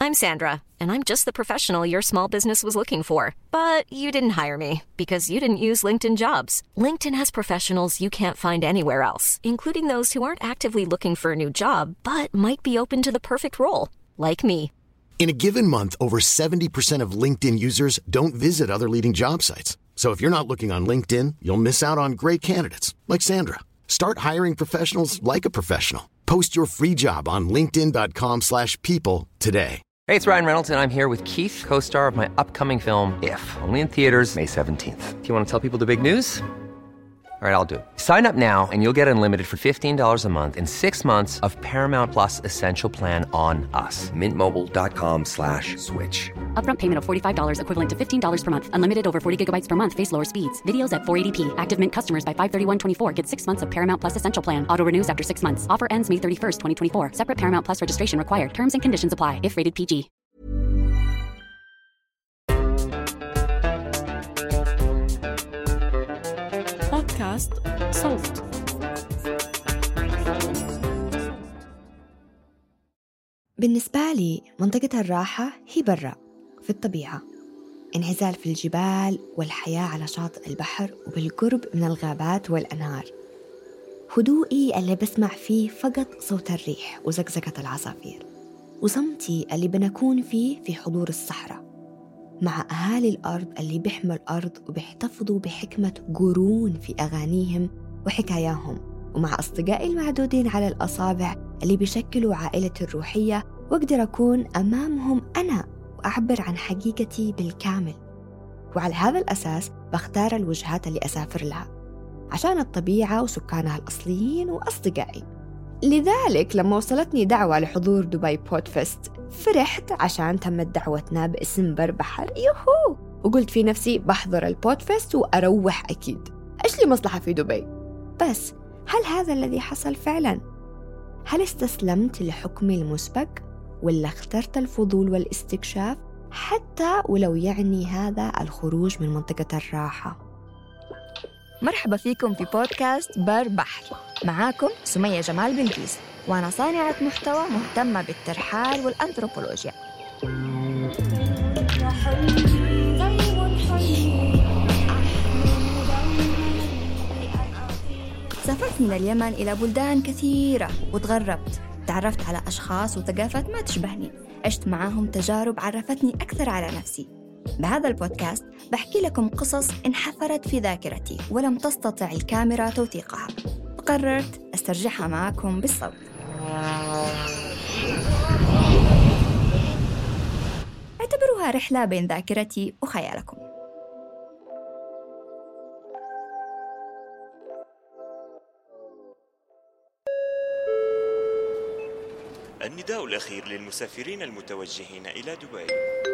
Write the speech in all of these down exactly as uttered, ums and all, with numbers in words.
I'm Sandra, and I'm just the professional your small business was looking for. But you didn't hire me because you didn't use LinkedIn Jobs. LinkedIn has professionals you can't find anywhere else, including those who aren't actively looking for a new job, but might be open to the perfect role, like me. In a given month, over seventy percent of LinkedIn users don't visit other leading job sites. So if you're not looking on LinkedIn, you'll miss out on great candidates like Sandra. Start hiring professionals like a professional. Post your free job on linkedin dot com slash people today. Hey, it's Ryan Reynolds, and I'm here with Keith, co-star of my upcoming film, If, only in theaters May seventeenth. Do you want to tell people the big news? All right, I'll do it. Sign up now and you'll get unlimited for fifteen dollars a month and six months of Paramount Plus Essential Plan on us. Mint Mobile dot com slash switch. Upfront payment of forty-five dollars equivalent to fifteen dollars per month. Unlimited over forty gigabytes per month. Face lower speeds. Videos at four eighty p. Active Mint customers by five thirty-one twenty-four get six months of Paramount Plus Essential Plan. Auto renews after six months. Offer ends May thirty-first, twenty twenty-four. Separate Paramount Plus registration required. Terms and conditions apply if rated P G. بودكاست صوت. بالنسبة لي منطقة الراحة هي برا في الطبيعة، انعزال في الجبال والحياة على شاطئ البحر وبالقرب من الغابات والأنهار، هدوئي اللي بسمع فيه فقط صوت الريح وزقزقة العصافير، وصمتي اللي بنكون فيه في حضور الصحراء مع أهالي الأرض اللي بيحموا الأرض وبيحتفظوا بحكمة قرون في أغانيهم وحكاياهم، ومع أصدقائي المعدودين على الأصابع اللي بيشكلوا عائلتي الروحية، وأقدر أكون أمامهم أنا وأعبر عن حقيقتي بالكامل. وعلى هذا الأساس بختار الوجهات اللي أسافر لها عشان الطبيعة وسكانها الأصليين وأصدقائي. لذلك لما وصلتني دعوة لحضور دبي بودفست فرحت عشان تمت دعوتنا باسم بر بحر يوهو، وقلت في نفسي بحضر البودفست وأروح أكيد، إيش لي مصلحة في دبي؟ بس هل هذا الذي حصل فعلا؟ هل استسلمت لحكمي المسبق ولا اخترت الفضول والاستكشاف حتى ولو يعني هذا الخروج من منطقة الراحة؟ مرحبا فيكم في بودكاست بر بحر، معاكم سمية جمال بلقيس، وأنا صانعة محتوى مهتمة بالترحال والأنثروبولوجيا. سافرت من اليمن إلى بلدان كثيرة وتغربت، تعرفت على أشخاص وثقافات ما تشبهني، عشت معاهم تجارب عرفتني أكثر على نفسي. بهذا البودكاست بحكي لكم قصص انحفرت في ذاكرتي ولم تستطع الكاميرا توثيقها، فقررت أسترجعها معاكم بالصوت. اعتبروها رحلة بين ذاكرتي وخيالكم. النداء الأخير للمسافرين المتوجهين إلى دبي.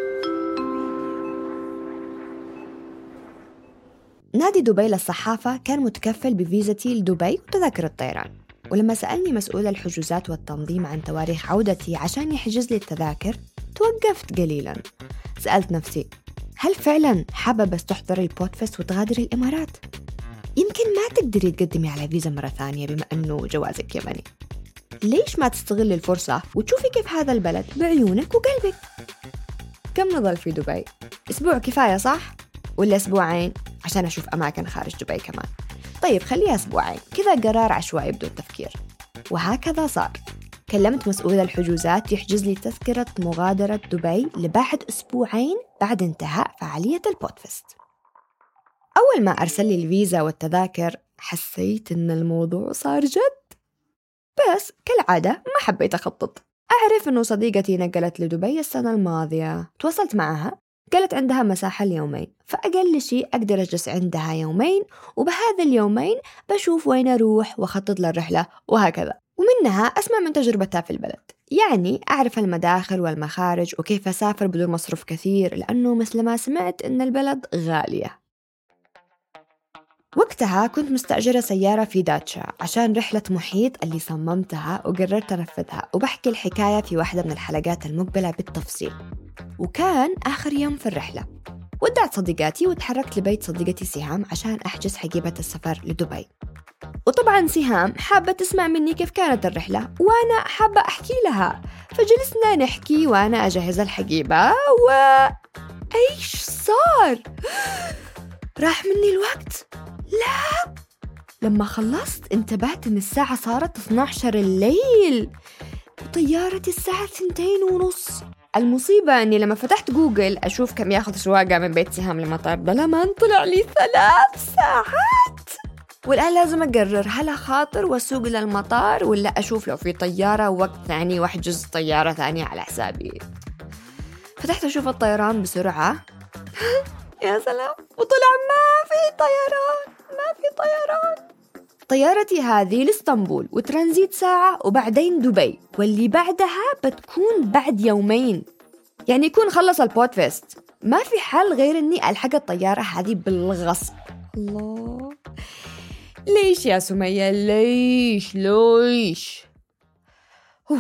نادي دبي للصحافة كان متكفل بفيزتي لدبي وتذاكر الطيران، ولما سألني مسؤول الحجوزات والتنظيم عن تواريخ عودتي عشان يحجز لي التذاكر توقفت قليلاً. سألت نفسي، هل فعلاً حابة تحضر البودفست وتغادر الإمارات؟ يمكن ما تقدري تقدمي على فيزا مرة ثانية بما أنه جوازك يمني. ليش ما تستغل الفرصة وتشوفي كيف هذا البلد بعيونك وقلبك؟ كم نظل في دبي؟ أسبوع كفاية صح؟ ولا أسبوعين عشان أشوف أماكن خارج دبي كمان؟ طيب خليها أسبوعين، كذا قرار عشوائي بدون تفكير. وهكذا صار. كلمت مسؤول الحجوزات يحجز لي تذكرة مغادرة دبي لبعد أسبوعين بعد انتهاء فعالية البودفست. أول ما أرسل لي الفيزا والتذاكر حسيت إن الموضوع صار جد، بس كالعادة ما حبيت أخطط. أعرف إنه صديقتي نقلت لدبي السنة الماضية، تواصلت معها قالت عندها مساحة اليومين، فأقل شيء أقدر أجلس عندها يومين، وبهذا اليومين بشوف وين أروح وأخطط للرحلة وهكذا، ومنها أسمع من تجربتها في البلد. يعني أعرف المداخل والمخارج وكيف أسافر بدون مصروف كثير، لأنه مثل ما سمعت إن البلد غالية. وقتها كنت مستأجرة سيارة في داتشا عشان رحلة محيط اللي صممتها وقررت أنفذها، وبحكي الحكاية في واحدة من الحلقات المقبلة بالتفصيل. وكان آخر يوم في الرحلة، ودعت صديقاتي وتحركت لبيت صديقتي سهام عشان أحجز حقيبة السفر لدبي. وطبعا سهام حابة تسمع مني كيف كانت الرحلة وأنا حابة أحكي لها، فجلسنا نحكي وأنا أجهز الحقيبة و... إيش صار؟ راح مني الوقت؟ لا، لما خلصت انتبهت إن الساعة صارت اثنا عشر الليل وطيارتي الساعة اثنتين ونص. المصيبة أني لما فتحت جوجل أشوف كم ياخذ سواقة من بيت سهام لمطار دلمان طلع لي ثلاث ساعات. والآن لازم أقرر هل أخاطر وأسوق للمطار ولا أشوف لو في طيارة وقت ثاني وأحجز طيارة ثانية على حسابي. فتحت أشوف الطيران بسرعة يا سلام، وطلع ما في طيران، ما في طيران. طيارتي هذه لإسطنبول وترانزيت ساعة وبعدين دبي، واللي بعدها بتكون بعد يومين، يعني يكون خلص البودفيست. ما في حل غير أني ألحق الطيارة هذه بالغصب. الله، ليش يا سمية؟ ليش ليش؟ أوه.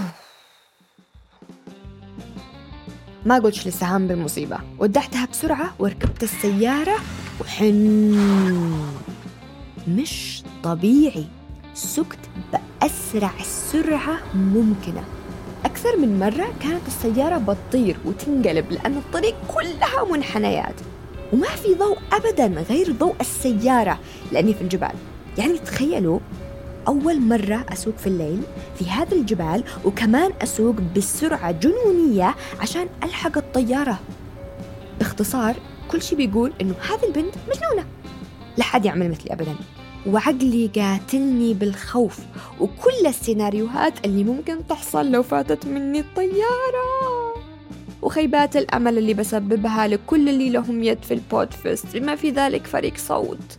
ما قلتش لسهام بالمصيبة، ودعتها بسرعة وركبت السيارة وحن مش طبيعي، سكت بأسرع سرعة ممكنة. أكثر من مرة كانت السيارة بتطير وتنقلب لأن الطريق كلها منحنيات وما في ضوء أبداً غير ضوء السيارة لأني في الجبال. يعني تخيلوا أول مرة أسوق في الليل في هذا الجبال وكمان أسوق بسرعة جنونية عشان ألحق الطيارة. باختصار كل شيء بيقول إنه هذه البنت مجنونة، لا حد يعمل مثلي أبداً. وعقلي قاتلني بالخوف وكل السيناريوهات اللي ممكن تحصل لو فاتت مني الطيارة، وخيبات الأمل اللي بسببها لكل اللي لهم يد في البودفيست بما في ذلك فريق صوت.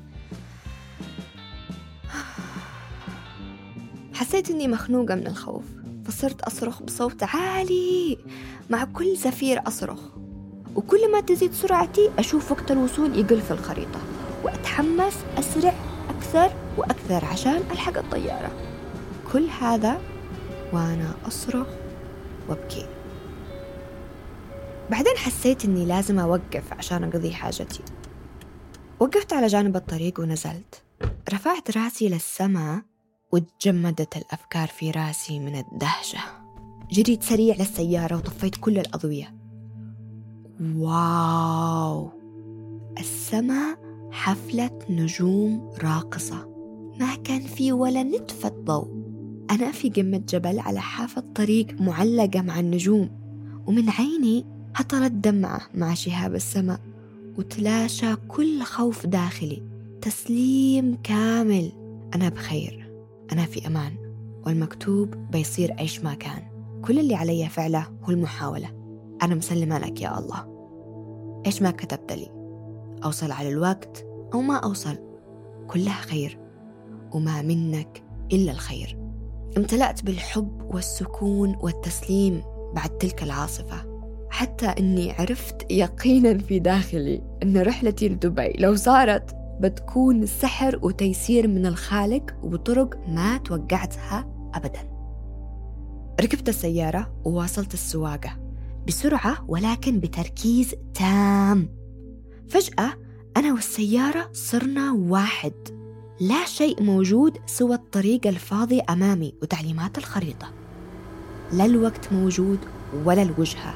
حسيت إني مخنوقة من الخوف، فصرت أصرخ بصوت عالي، مع كل زفير أصرخ، وكل ما تزيد سرعتي أشوف وقت الوصول يقل في الخريطة وأتحمس أسرع أكثر وأكثر عشان ألحق الطيارة. كل هذا وأنا أصرخ وأبكي. بعدين حسيت إني لازم أوقف عشان أقضي حاجتي. وقفت على جانب الطريق ونزلت، رفعت راسي للسماء وتجمدت الأفكار في راسي من الدهشة. جريت سريع للسيارة وطفيت كل الأضوية. واو، السماء حفلة نجوم راقصة، ما كان في ولا نتفة ضوء. أنا في قمة جبل على حافة طريق معلقة مع النجوم، ومن عيني هطلت دمعة مع شهاب السماء، وتلاشى كل خوف داخلي. تسليم كامل، أنا بخير، أنا في أمان، والمكتوب بيصير إيش ما كان. كل اللي علي فعله هو المحاولة. أنا مسلمة لك يا الله، إيش ما كتبت لي، أوصل على الوقت أو ما أوصل، كلها خير، وما منك إلا الخير. امتلأت بالحب والسكون والتسليم بعد تلك العاصفة، حتى أني عرفت يقينا في داخلي أن رحلتي لدبي لو صارت بتكون سحر وتيسير من الخالق وبطرق ما توقعتها أبدا. ركبت السيارة وواصلت السواقة بسرعة ولكن بتركيز تام. فجأة أنا والسيارة صرنا واحد، لا شيء موجود سوى الطريق الفاضي أمامي وتعليمات الخريطة. لا الوقت موجود ولا الوجهة.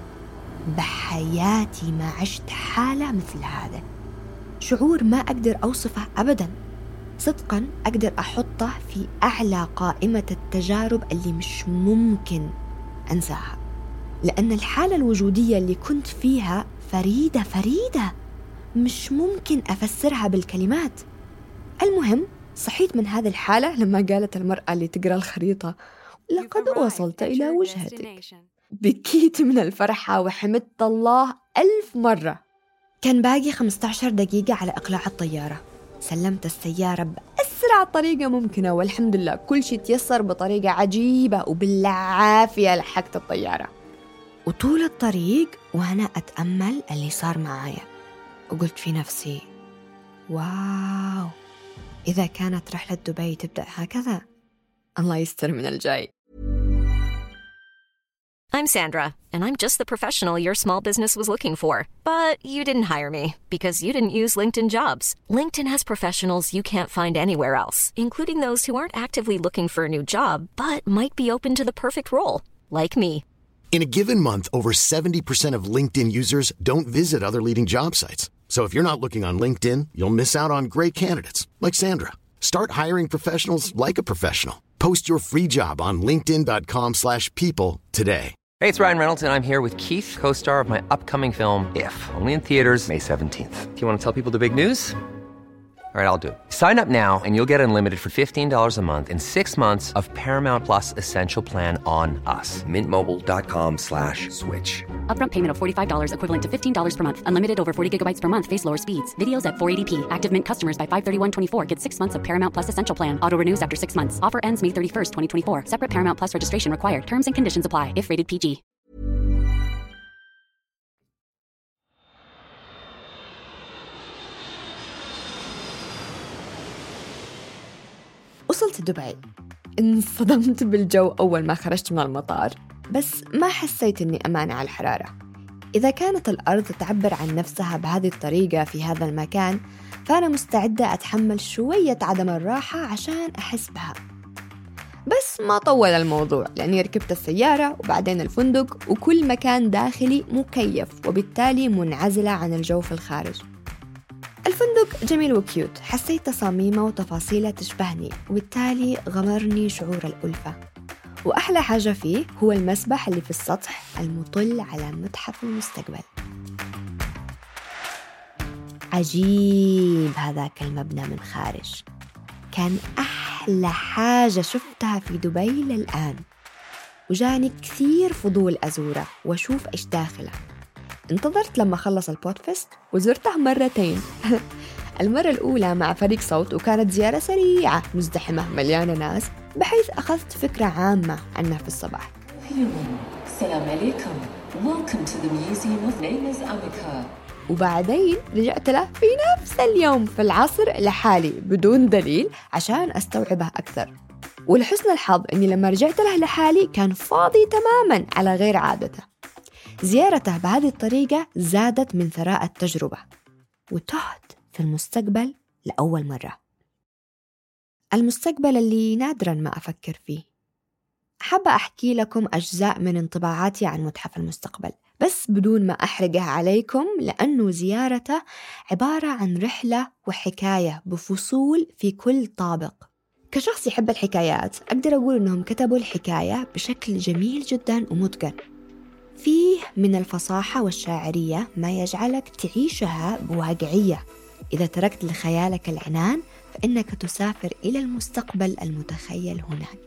بحياتي ما عشت حالة مثل هذا، شعور ما أقدر أوصفه أبداً. صدقاً أقدر أحطه في أعلى قائمة التجارب اللي مش ممكن أنساها، لأن الحالة الوجودية اللي كنت فيها فريدة فريدة، مش ممكن أفسرها بالكلمات. المهم صحيت من هذه الحالة لما قالت المرأة اللي تقرأ الخريطة: لقد وصلت إلى وجهتك. بكيت من الفرحة وحمدت الله ألف مرة. كان باقي خمسة عشر دقيقة على إقلاع الطيارة. سلمت السيارة بأسرع طريقة ممكنة، والحمد لله كل شيء تيسر بطريقة عجيبة، وبالعافية لحقت الطيارة. وطول الطريق وأنا أتأمل اللي صار معايا، وقلت في نفسي: واو، إذا كانت رحلة دبي تبدأ هكذا، الله يستر من الجاي. I'm Sandra, and I'm just the professional your small business was looking for. But you didn't hire me because you didn't use LinkedIn Jobs. LinkedIn has professionals you can't find anywhere else, including those who aren't actively looking for a new job, but might be open to the perfect role, like me. In a given month, over seventy percent of LinkedIn users don't visit other leading job sites. So if you're not looking on LinkedIn, you'll miss out on great candidates like Sandra. Start hiring professionals like a professional. Post your free job on linkedin dot com slash people today. Hey, it's Ryan Reynolds, and I'm here with Keith, co-star of my upcoming film, If, only in theaters May seventeenth. Do you want to tell people the big news? All right, I'll do it. Sign up now and you'll get unlimited for fifteen dollars a month and six months of Paramount Plus Essential Plan on us. mint mobile dot com slash switch. Upfront payment of forty-five dollars equivalent to fifteen dollars per month. Unlimited over forty gigabytes per month. Face lower speeds. Videos at four eighty p. Active Mint customers by five thirty-one twenty-four get six months of Paramount Plus Essential Plan. Auto renews after six months. Offer ends May thirty-first, twenty twenty-four. Separate Paramount Plus registration required. Terms and conditions apply if rated بي جي. وصلت دبي. انصدمت بالجو أول ما خرجت من المطار، بس ما حسيت أني أمانة على الحرارة. إذا كانت الأرض تعبر عن نفسها بهذه الطريقة في هذا المكان، فأنا مستعدة أتحمل شوية عدم الراحة عشان أحس بها. بس ما طول الموضوع، لأني ركبت السيارة وبعدين الفندق، وكل مكان داخلي مكيف وبالتالي منعزلة عن الجو في الخارج. الفندق جميل وكيوت، حسيت تصاميمه وتفاصيله تشبهني، وبالتالي غمرني شعور الألفة. وأحلى حاجة فيه هو المسبح اللي في السطح المطل على متحف المستقبل. عجيب هذاك المبنى من خارج، كان أحلى حاجة شفتها في دبي للآن، وجاني كثير فضول أزوره وأشوف إيش داخله. انتظرت لما خلص البودفست وزرته مرتين. المرة الأولى مع فريق صوت، وكانت زيارة سريعة مزدحمة مليانة ناس، بحيث أخذت فكرة عامة عنه في الصباح. السلام عليكم. Welcome to the Museum of Nameless Amica. وبعدين رجعت له في نفس اليوم في العصر لحالي بدون دليل عشان أستوعبه أكثر. ولحسن الحظ أني لما رجعت له لحالي كان فاضي تماماً على غير عادته. زيارته بهذه الطريقة زادت من ثراء التجربة، وتهت في المستقبل لأول مرة. المستقبل اللي نادراً ما أفكر فيه. حابة أحكي لكم أجزاء من انطباعاتي عن متحف المستقبل، بس بدون ما أحرقها عليكم، لأنه زيارته عبارة عن رحلة وحكاية بفصول في كل طابق. كشخص يحب الحكايات، أقدر أقول أنهم كتبوا الحكاية بشكل جميل جداً ومتقن. فيه من الفصاحة والشاعرية ما يجعلك تعيشها بواقعية. إذا تركت لخيالك العنان، فإنك تسافر إلى المستقبل المتخيل هناك.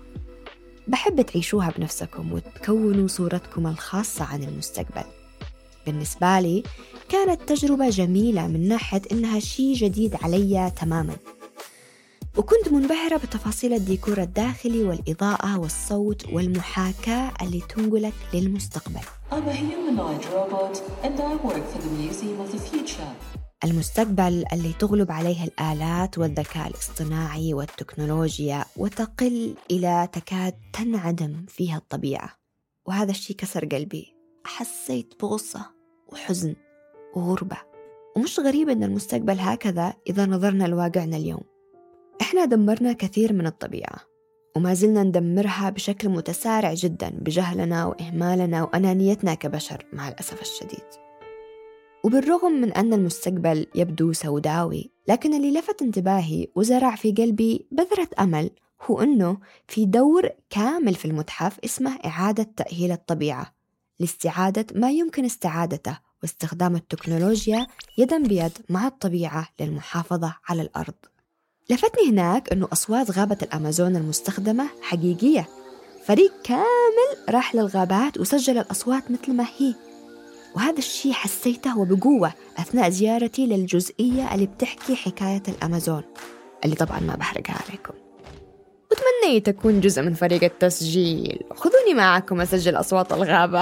بحب تعيشوها بنفسكم وتكونوا صورتكم الخاصة عن المستقبل. بالنسبة لي كانت تجربة جميلة من ناحية إنها شيء جديد علي تماماً، وكنت منبهرة بتفاصيل الديكور الداخلي والإضاءة والصوت والمحاكاة اللي تنقلك للمستقبل. I'm a humanoid robot and I work for the Museum of the Future. المستقبل اللي تغلب عليه الآلات والذكاء الاصطناعي والتكنولوجيا، وتقل إلى تكاد تنعدم فيها الطبيعة. وهذا الشيء كسر قلبي. حسيت بغصة وحزن وغربة. ومش غريب أن المستقبل هكذا إذا نظرنا لواقعنا اليوم. إحنا دمرنا كثير من الطبيعة، وما زلنا ندمرها بشكل متسارع جدا بجهلنا وإهمالنا وأنانيتنا كبشر مع الأسف الشديد. وبالرغم من أن المستقبل يبدو سوداوي، لكن اللي لفت انتباهي وزرع في قلبي بذرة أمل هو أنه في دور كامل في المتحف اسمه إعادة تأهيل الطبيعة، لاستعادة ما يمكن استعادته واستخدام التكنولوجيا يداً بيد مع الطبيعة للمحافظة على الأرض. لفتني هناك أنه أصوات غابة الأمازون المستخدمة حقيقية. فريق كامل راح للغابات وسجل الأصوات مثل ما هي، وهذا الشيء حسيته وبقوة أثناء زيارتي للجزئية اللي بتحكي حكاية الأمازون، اللي طبعاً ما بحرقها عليكم. وتمنيت أكون جزء من فريق التسجيل، خذوني معكم أسجل أصوات الغابة.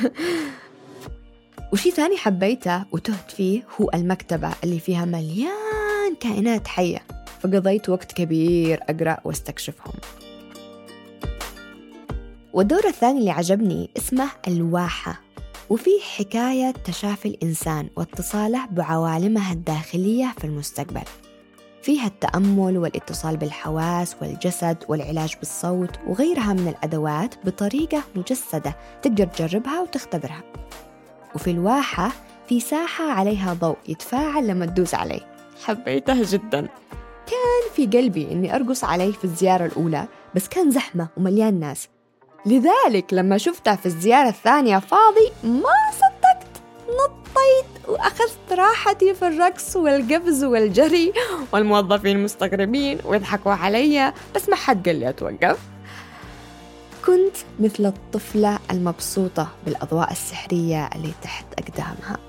وشي ثاني حبيته وتهت فيه هو المكتبة اللي فيها مليان كائنات حية، فقضيت وقت كبير أقرأ واستكشفهم. والدور الثاني اللي عجبني اسمه الواحة، وفيه حكاية تشافي الإنسان واتصاله بعوالمها الداخلية في المستقبل. فيها التأمل والاتصال بالحواس والجسد والعلاج بالصوت وغيرها من الأدوات بطريقة مجسدة تقدر تجربها وتختبرها. وفي الواحة في ساحة عليها ضوء يتفاعل لما تدوس عليه. حبيتها جدا، كان في قلبي إني أرقص عليه في الزيارة الأولى، بس كان زحمة ومليان ناس، لذلك لما شفتها في الزيارة الثانية فاضي ما صدقت، نطيت وأخذت راحتي في الرقص والقفز والجري، والموظفين مستغربين ويضحكوا علي بس ما حد قال لي أتوقف. كنت مثل الطفلة المبسوطة بالأضواء السحرية اللي تحت أقدامها.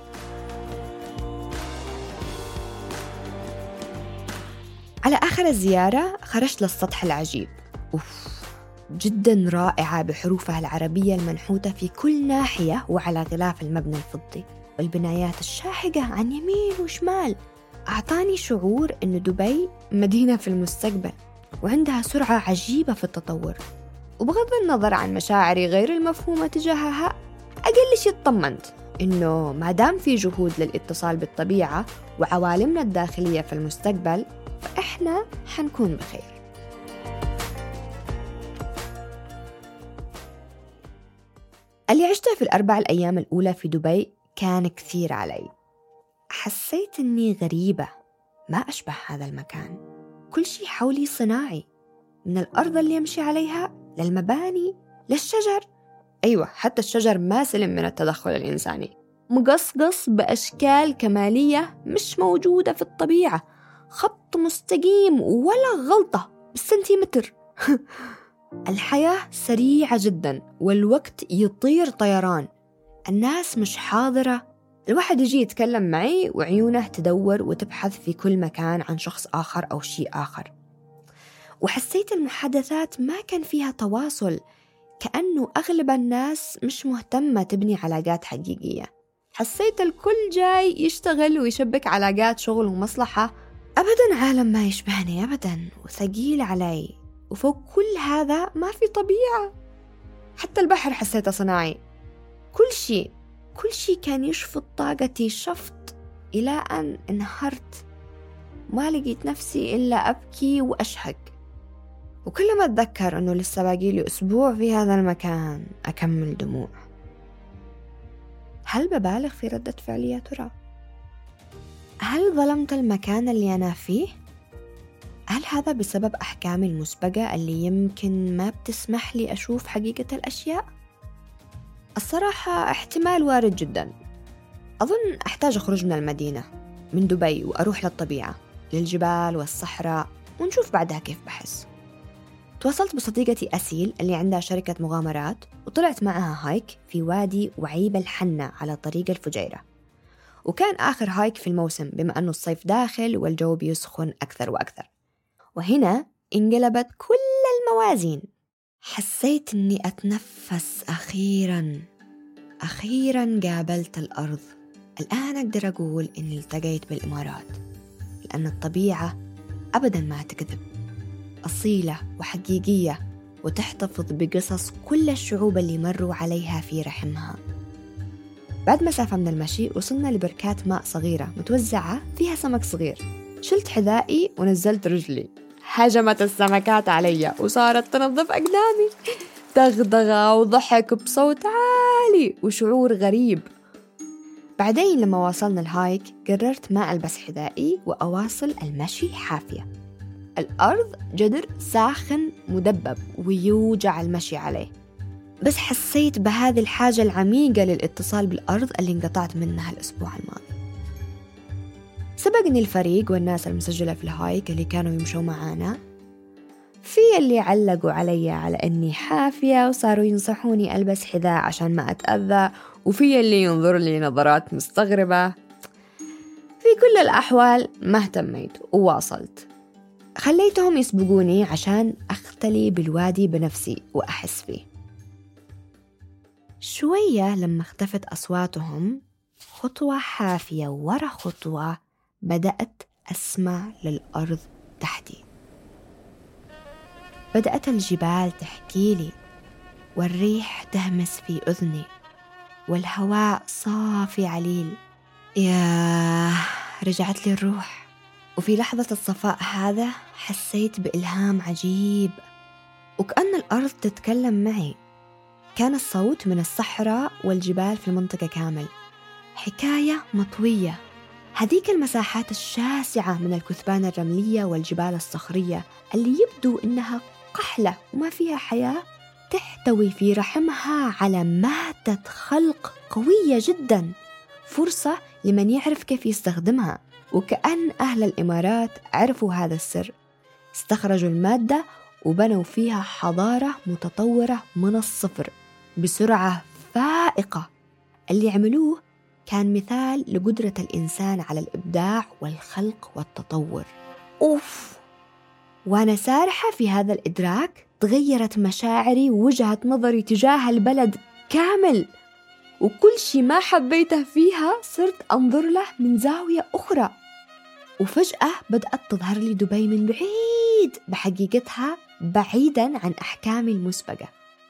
على آخر الزيارة خرجت للسطح العجيب، أوف جدا رائعة بحروفها العربية المنحوتة في كل ناحية وعلى غلاف المبنى الفضي، والبنايات الشاهقة عن يمين وشمال. أعطاني شعور إن دبي مدينة في المستقبل وعندها سرعة عجيبة في التطور. وبغض النظر عن مشاعري غير المفهومة تجاهها، أقل شيء اطمنت إنه ما دام في جهود للاتصال بالطبيعة وعوالمنا الداخلية في المستقبل، فإحنا حنكون بخير. اللي عشته في الأربع الأيام الأولى في دبي كان كثير علي. حسيت إني غريبة، ما أشبه هذا المكان. كل شيء حولي صناعي، من الأرض اللي يمشي عليها للمباني للشجر. أيوة، حتى الشجر ما سلم من التدخل الإنساني، مقصقص بأشكال كمالية مش موجودة في الطبيعة، خط مستقيم ولا غلطة بالسنتيمتر. الحياة سريعة جدا والوقت يطير طيران، الناس مش حاضرة. الواحد يجي يتكلم معي وعيونه تدور وتبحث في كل مكان عن شخص آخر أو شيء آخر. وحسيت المحادثات ما كان فيها تواصل، كأنه أغلب الناس مش مهتمة تبني علاقات حقيقية. حسيت الكل جاي يشتغل ويشبك علاقات شغل ومصلحة. أبدا عالم ما يشبهني أبدا، وثقيل علي. وفوق كل هذا ما في طبيعة، حتى البحر حسيته صناعي. كل شيء كل شيء كان يشفط طاقتي شفط، إلى أن انهارت. ما لقيت نفسي إلا أبكي وأشهق. وكل ما أتذكر أنه لسه باقي لي أسبوع في هذا المكان أكمل دموع. هل ببالغ في ردة فعلي يا ترى؟ هل ظلمت المكان اللي أنا فيه؟ هل هذا بسبب أحكامي المسبقة اللي يمكن ما بتسمح لي أشوف حقيقة الأشياء؟ الصراحة احتمال وارد جدا. أظن أحتاج أخرج من المدينة، من دبي، وأروح للطبيعة، للجبال والصحراء، ونشوف بعدها كيف بحس. تواصلت بصديقتي أسيل اللي عندها شركة مغامرات، وطلعت معها هايك في وادي وعيب الحنة على طريق الفجيرة. وكان آخر هايك في الموسم بما أنه الصيف داخل والجو بيسخن أكثر وأكثر. وهنا انقلبت كل الموازين. حسيت أني أتنفس أخيراً. أخيراً قابلت الأرض. الآن أقدر أقول أني التقيت بالإمارات، لأن الطبيعة أبداً ما تكذب، أصيلة وحقيقية، وتحتفظ بقصص كل الشعوب اللي مروا عليها في رحمها. بعد مسافة من المشي وصلنا لبركات ماء صغيرة متوزعة فيها سمك صغير. شلت حذائي ونزلت رجلي، هجمت السمكات علي وصارت تنظف أقدامي. دغدغة وضحك بصوت عالي وشعور غريب. بعدين لما وصلنا الهايك قررت ما ألبس حذائي وأواصل المشي حافية. الأرض جدر ساخن مدبب ويوجع المشي عليه، بس حسيت بهذه الحاجة العميقة للاتصال بالأرض اللي انقطعت منها الأسبوع الماضي. سبقني الفريق والناس المسجلة في الهايك اللي كانوا يمشوا معانا، في اللي علقوا علي على أني حافية وصاروا ينصحوني ألبس حذاء عشان ما أتأذى، وفي اللي ينظر لي نظرات مستغربة. في كل الأحوال ما اهتميت وواصلت. خليتهم يسبقوني عشان أختلي بالوادي بنفسي وأحس فيه. شوية لما اختفت أصواتهم، خطوة حافية ورا خطوة بدأت أسمع للأرض تحتي. بدأت الجبال تحكي لي، والريح تهمس في أذني والهواء صافي عليل. ياه، رجعت لي الروح. وفي لحظة الصفاء هذا حسيت بإلهام عجيب، وكأن الأرض تتكلم معي. كان الصوت من الصحراء والجبال في المنطقة كامل، حكاية مطوية. هذيك المساحات الشاسعة من الكثبان الرملية والجبال الصخرية اللي يبدو إنها قحلة وما فيها حياة، تحتوي في رحمها على مادة خلق قوية جدا، فرصة لمن يعرف كيف يستخدمها. وكأن أهل الإمارات عرفوا هذا السر، استخرجوا المادة وبنوا فيها حضارة متطورة من الصفر بسرعة فائقة. اللي عملوه كان مثال لقدرة الإنسان على الإبداع والخلق والتطور. أوف، وأنا سارحة في هذا الإدراك تغيرت مشاعري ووجهة نظري تجاه البلد كامل، وكل شيء ما حبيته فيها صرت أنظر له من زاوية أخرى. وفجأة بدأت تظهر لي دبي من بعيد بحقيقتها، بعيداً عن أحكامي المسبقة.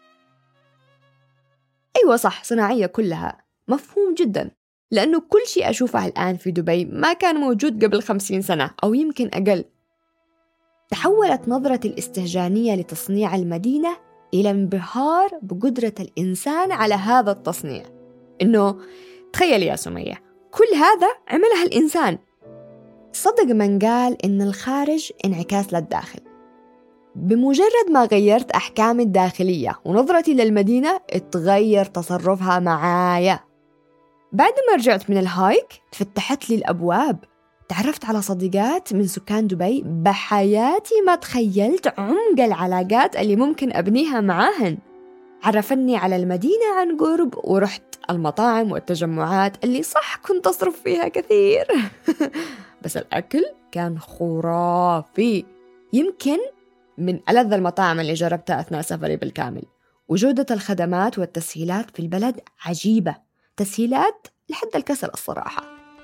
أيوة صح، صناعية كلها، مفهوم جداً، لأنه كل شيء أشوفه الآن في دبي ما كان موجود قبل خمسين سنة أو يمكن أقل. تحولت نظرة الاستهجانية لتصنيع المدينة إلى انبهار بقدرة الإنسان على هذا التصنيع. إنه تخيل يا سمية، كل هذا عملها الإنسان. صدق من قال إن الخارج انعكاس للداخل. بمجرد ما غيرت أحكامي الداخلية ونظرتي للمدينة، اتغير تصرفها معايا. بعد ما رجعت من الهايك تفتحت لي الأبواب، تعرفت على صديقات من سكان دبي بحياتي ما تخيلت عمق العلاقات اللي ممكن أبنيها معاهن. عرفني على المدينة عن قرب، ورحت المطاعم والتجمعات اللي صح كنت أصرف فيها كثير بس الأكل كان خرافي، يمكن من ألذ المطاعم اللي جربتها أثناء سفري بالكامل. وجودة الخدمات والتسهيلات في البلد عجيبة، تسهيلات لحد الكسل الصراحة.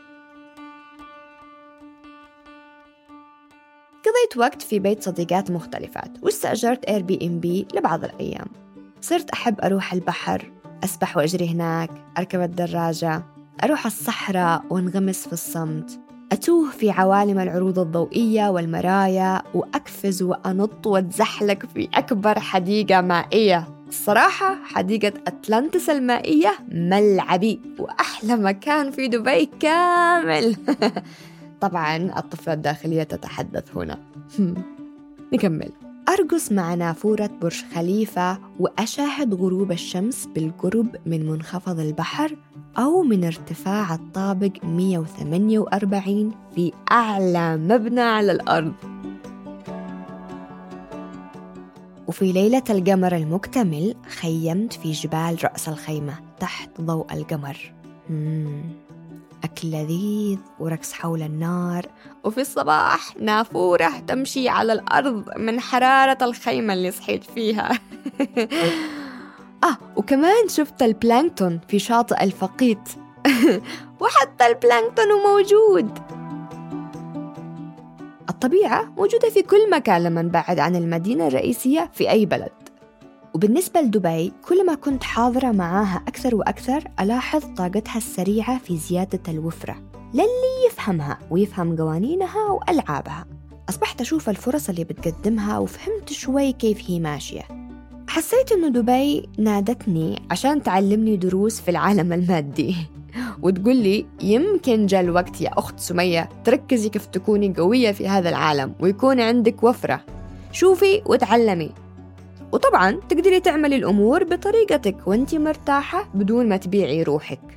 قضيت وقت في بيت صديقات مختلفات، واستأجرت اير بي ام بي لبعض الأيام. صرت أحب أروح البحر، أسبح وأجري هناك، أركب الدراجة، أروح الصحراء وانغمس في الصمت، أتوه في عوالم العروض الضوئية والمرايا، وأقفز وأنط وأتزحلق في أكبر حديقة مائية. الصراحة حديقة أتلانتس المائية ملعبي وأحلى مكان في دبي كامل طبعاً الطفلة الداخلية تتحدث هنا. نكمل. أرقص مع نافورة برج خليفة وأشاهد غروب الشمس بالقرب من منخفض البحر أو من ارتفاع الطابق مئة وثمانية وأربعين في أعلى مبنى على الأرض. وفي ليلة القمر المكتمل خيمت في جبال رأس الخيمة تحت ضوء القمر. مم. أكل لذيذ ورقص حول النار، وفي الصباح نافورة تمشي على الأرض من حرارة الخيمة اللي صحيت فيها آه وكمان شفت البلانكتون في شاطئ الفقيت وحتى البلانكتون موجود. الطبيعة موجودة في كل مكان لما نبعد عن المدينة الرئيسية في أي بلد. وبالنسبة لدبي، كل ما كنت حاضرة معاها أكثر وأكثر ألاحظ طاقتها السريعة في زيادة الوفرة للي يفهمها ويفهم قوانينها وألعابها. أصبحت أشوف الفرص اللي بتقدمها وفهمت شوي كيف هي ماشية. حسيت إنه دبي نادتني عشان تعلمني دروس في العالم المادي وتقول لي يمكن جاء الوقت يا أخت سمية تركزي كيف تكوني قوية في هذا العالم ويكون عندك وفرة، شوفي وتعلمي، وطبعاً تقدري تعملي الأمور بطريقتك وانتي مرتاحة بدون ما تبيعي روحك.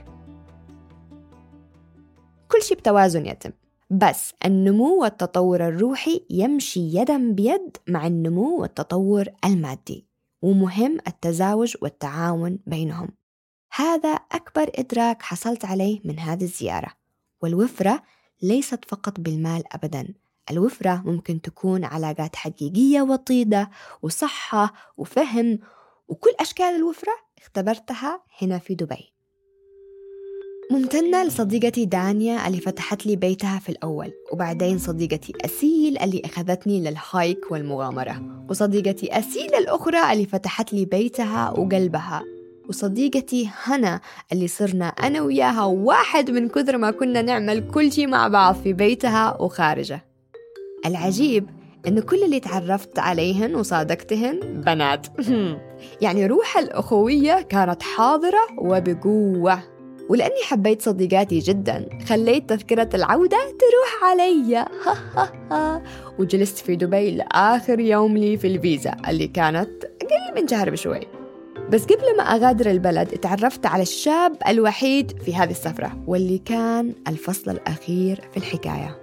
كل شيء بتوازن يتم، بس النمو والتطور الروحي يمشي يداً بيد مع النمو والتطور المادي، ومهم التزاوج والتعاون بينهم. هذا أكبر إدراك حصلت عليه من هذه الزيارة. والوفرة ليست فقط بالمال أبداً، الوفرة ممكن تكون علاقات حقيقية وطيدة وصحة وفهم، وكل أشكال الوفرة اختبرتها هنا في دبي. ممتنة لصديقتي دانيا اللي فتحت لي بيتها في الأول، وبعدين صديقتي أسيل اللي أخذتني للهايك والمغامرة، وصديقتي أسيل الأخرى اللي فتحت لي بيتها وقلبها، وصديقتي هنا اللي صرنا أنا وياها واحد من كثر ما كنا نعمل كل شيء مع بعض في بيتها وخارجه. العجيب إنه كل اللي تعرفت عليهن وصادقتهن بنات. يعني روح الأخوية كانت حاضرة وبقوة. ولأني حبيت صديقاتي جداً خليت تذكرة العودة تروح علي. وجلست في دبي لآخر يوم لي في الفيزا اللي كانت أقل من شهر بشوي. بس قبل ما أغادر البلد اتعرفت على الشاب الوحيد في هذه السفرة، واللي كان الفصل الأخير في الحكاية.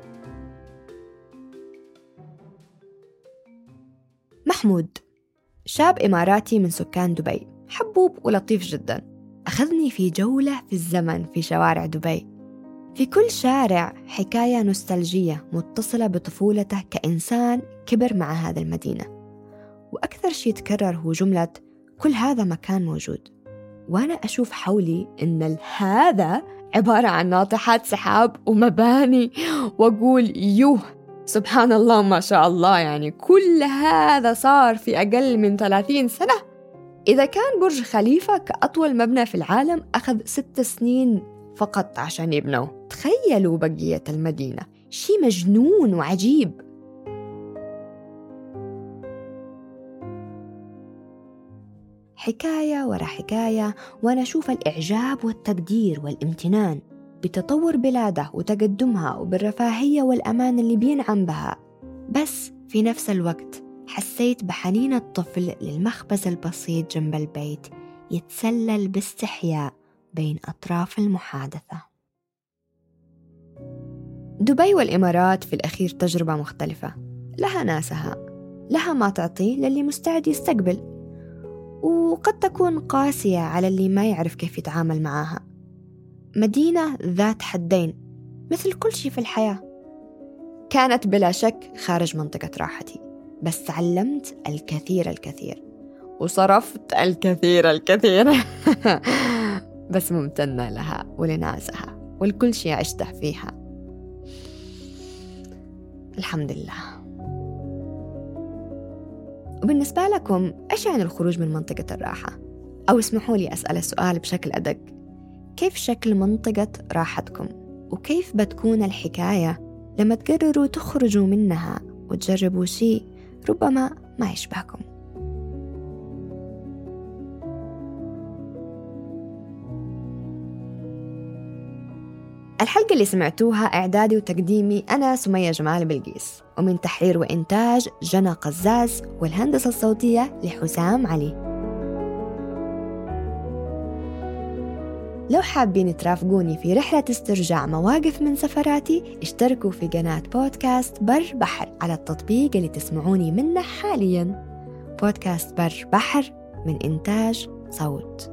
محمود شاب إماراتي من سكان دبي، حبوب ولطيف جداً. أخذني في جولة في الزمن في شوارع دبي. في كل شارع حكاية نوستالجية متصلة بطفولته كإنسان كبر مع هذه المدينة. وأكثر شيء تكرر هو جملة كل هذا مكان موجود. وأنا أشوف حولي إن هذا عبارة عن ناطحات سحاب ومباني، وأقول يوه سبحان الله ما شاء الله، يعني كل هذا صار في أقل من ثلاثين سنة. إذا كان برج خليفة كأطول مبنى في العالم أخذ ست سنين فقط عشان يبنوه، تخيلوا بقية المدينة، شيء مجنون وعجيب. حكاية ورا حكاية، وأنا أشوف الإعجاب والتقدير والامتنان بتطور بلاده وتقدمها وبالرفاهية والأمان اللي بينعم بها. بس في نفس الوقت حسيت بحنين الطفل للمخبز البسيط جنب البيت يتسلل باستحياء بين أطراف المحادثة. دبي والإمارات في الأخير تجربة مختلفة، لها ناسها، لها ما تعطي للي مستعد يستقبل، وقد تكون قاسية على اللي ما يعرف كيف يتعامل معها. مدينة ذات حدين مثل كل شيء في الحياة. كانت بلا شك خارج منطقة راحتي، بس تعلمت الكثير الكثير وصرفت الكثير الكثير. بس ممتنة لها ولناسها ولكل شيء عشته فيها. الحمد لله. وبالنسبة لكم إيش يعني الخروج من منطقة الراحة؟ أو اسمحوا لي أسأل السؤال بشكل أدق، كيف شكل منطقة راحتكم؟ وكيف بتكون الحكاية لما تقرروا تخرجوا منها وتجربوا شيء ربما ما يشبهكم؟ الحلقة اللي سمعتوها إعدادي وتقديمي أنا سمية جمال بلقيس، ومن تحرير وإنتاج جنى قزاز، والهندسة الصوتية لحسام علي. لو حابين ترافقوني في رحلة استرجاع مواقف من سفراتي، اشتركوا في قناة بودكاست بر بحر على التطبيق اللي تسمعوني منه حالياً. بودكاست بر بحر من إنتاج صوت.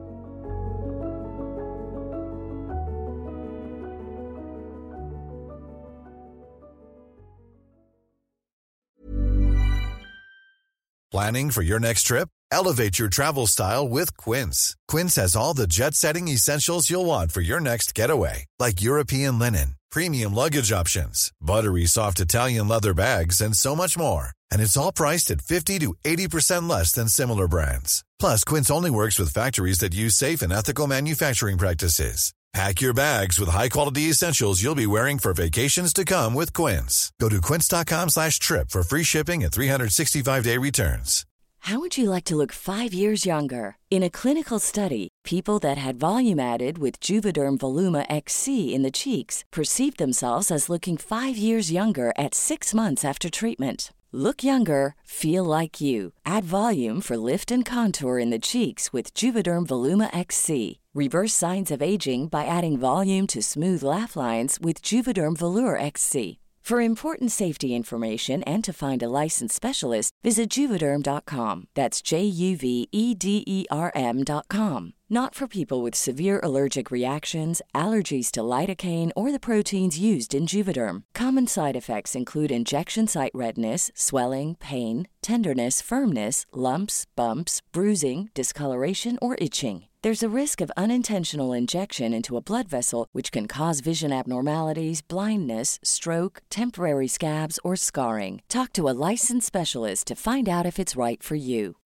Planning for your next trip? Elevate your travel style with Quince. Quince has all the jet-setting essentials you'll want for your next getaway, like European linen, premium luggage options, buttery soft Italian leather bags, and so much more. And it's all priced at fifty to eighty percent less than similar brands. Plus, Quince only works with factories that use safe and ethical manufacturing practices. Pack your bags with high-quality essentials you'll be wearing for vacations to come with Quince. Go to quince.com slash trip for free shipping and three sixty-five day returns. How would you like to look five years younger? In a clinical study, people that had volume added with Juvederm Voluma X C in the cheeks perceived themselves as looking five years younger at six months after treatment. Look younger, feel like you. Add volume for lift and contour in the cheeks with Juvederm Voluma X C. Reverse signs of aging by adding volume to smooth laugh lines with Juvederm Volure X C. For important safety information and to find a licensed specialist, visit Juvederm dot com. That's J U V E D E R M dot com. Not for people with severe allergic reactions, allergies to lidocaine, or the proteins used in Juvederm. Common side effects include injection site redness, swelling, pain, tenderness, firmness, lumps, bumps, bruising, discoloration, or itching. There's a risk of unintentional injection into a blood vessel, which can cause vision abnormalities, blindness, stroke, temporary scabs, or scarring. Talk to a licensed specialist to find out if it's right for you.